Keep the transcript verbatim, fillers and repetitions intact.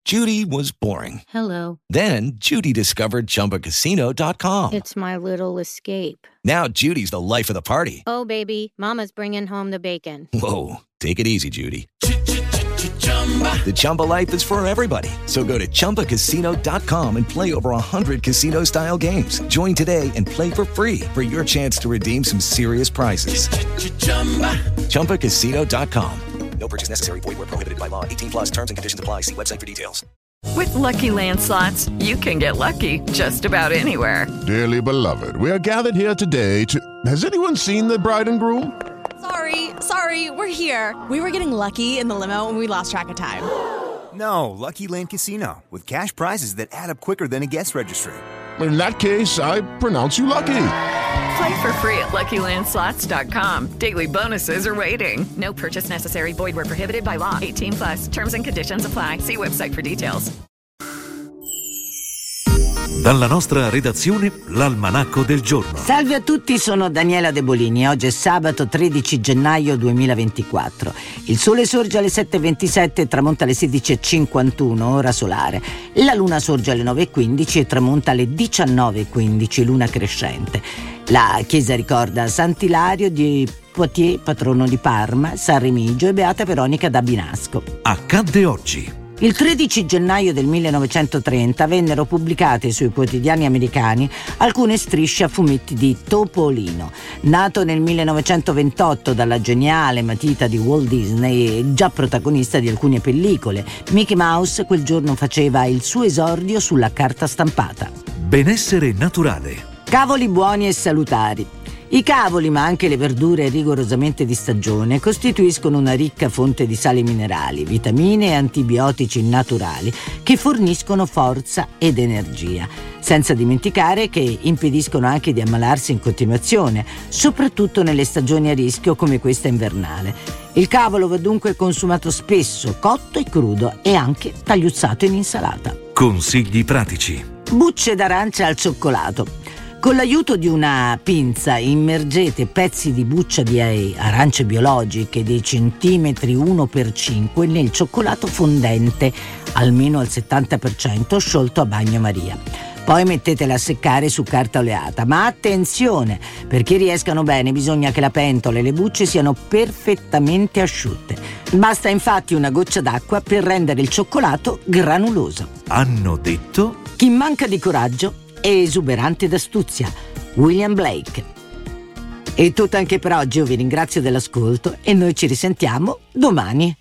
Judy was boring. Hello. Then Judy discovered Chumba Casino dot com. It's my little escape. Now Judy's the life of the party. Oh, baby, mama's bringing home the bacon. Whoa, take it easy, Judy. The Chumba life is for everybody. So go to Chumba Casino dot com and play over one hundred casino-style games. Join today and play for free for your chance to redeem some serious prizes. Chumba Casino dot com. No purchase necessary. Void where prohibited by law. eighteen plus terms and conditions apply. See website for details. With Lucky Land Slots, you can get lucky just about anywhere. Dearly beloved, we are gathered here today to... Has anyone seen the bride and groom? Sorry, sorry, we're here. We were getting lucky in the limo and we lost track of time. No, Lucky Land Casino, with cash prizes that add up quicker than a guest registry. In that case, I pronounce you lucky. Play for free at Lucky Land Slots dot com. Daily bonuses are waiting. No purchase necessary. Void where prohibited by law. eighteen plus. Terms and conditions apply. See website for details. Dalla nostra redazione, l'Almanacco del Giorno. Salve a tutti, sono Daniela De Bolini. Oggi è sabato tredici gennaio duemilaventiquattro. Il sole sorge alle sette e ventisette e tramonta alle sedici e cinquantuno, ora solare. La luna sorge alle nove e quindici e tramonta alle diciannove e quindici, luna crescente. La chiesa ricorda Sant'Ilario di Poitiers, patrono di Parma, San Remigio e Beata Veronica da Binasco. Accadde oggi. Il tredici gennaio del millenovecentotrenta vennero pubblicate sui quotidiani americani alcune strisce a fumetti di Topolino. Nato nel millenovecentoventotto dalla geniale matita di Walt Disney e già protagonista di alcune pellicole, Mickey Mouse quel giorno faceva il suo esordio sulla carta stampata. Benessere naturale. Cavoli buoni e salutari. I cavoli, ma anche le verdure rigorosamente di stagione, costituiscono una ricca fonte di sali minerali, vitamine e antibiotici naturali che forniscono forza ed energia, senza dimenticare che impediscono anche di ammalarsi in continuazione, soprattutto nelle stagioni a rischio come questa invernale. Il cavolo va dunque consumato spesso, cotto e crudo e anche tagliuzzato in insalata. Consigli pratici. Bucce d'arancia al cioccolato. Con l'aiuto di una pinza immergete pezzi di buccia di arance biologiche dei centimetri uno per cinque nel cioccolato fondente, almeno al settanta per cento sciolto a bagnomaria. Poi mettetela a seccare su carta oleata, ma attenzione, perché riescano bene bisogna che la pentola e le bucce siano perfettamente asciutte. Basta infatti una goccia d'acqua per rendere il cioccolato granuloso. Hanno detto... Chi manca di coraggio è esuberante d'astuzia. William Blake. È tutto anche per oggi, io vi ringrazio dell'ascolto e noi ci risentiamo domani.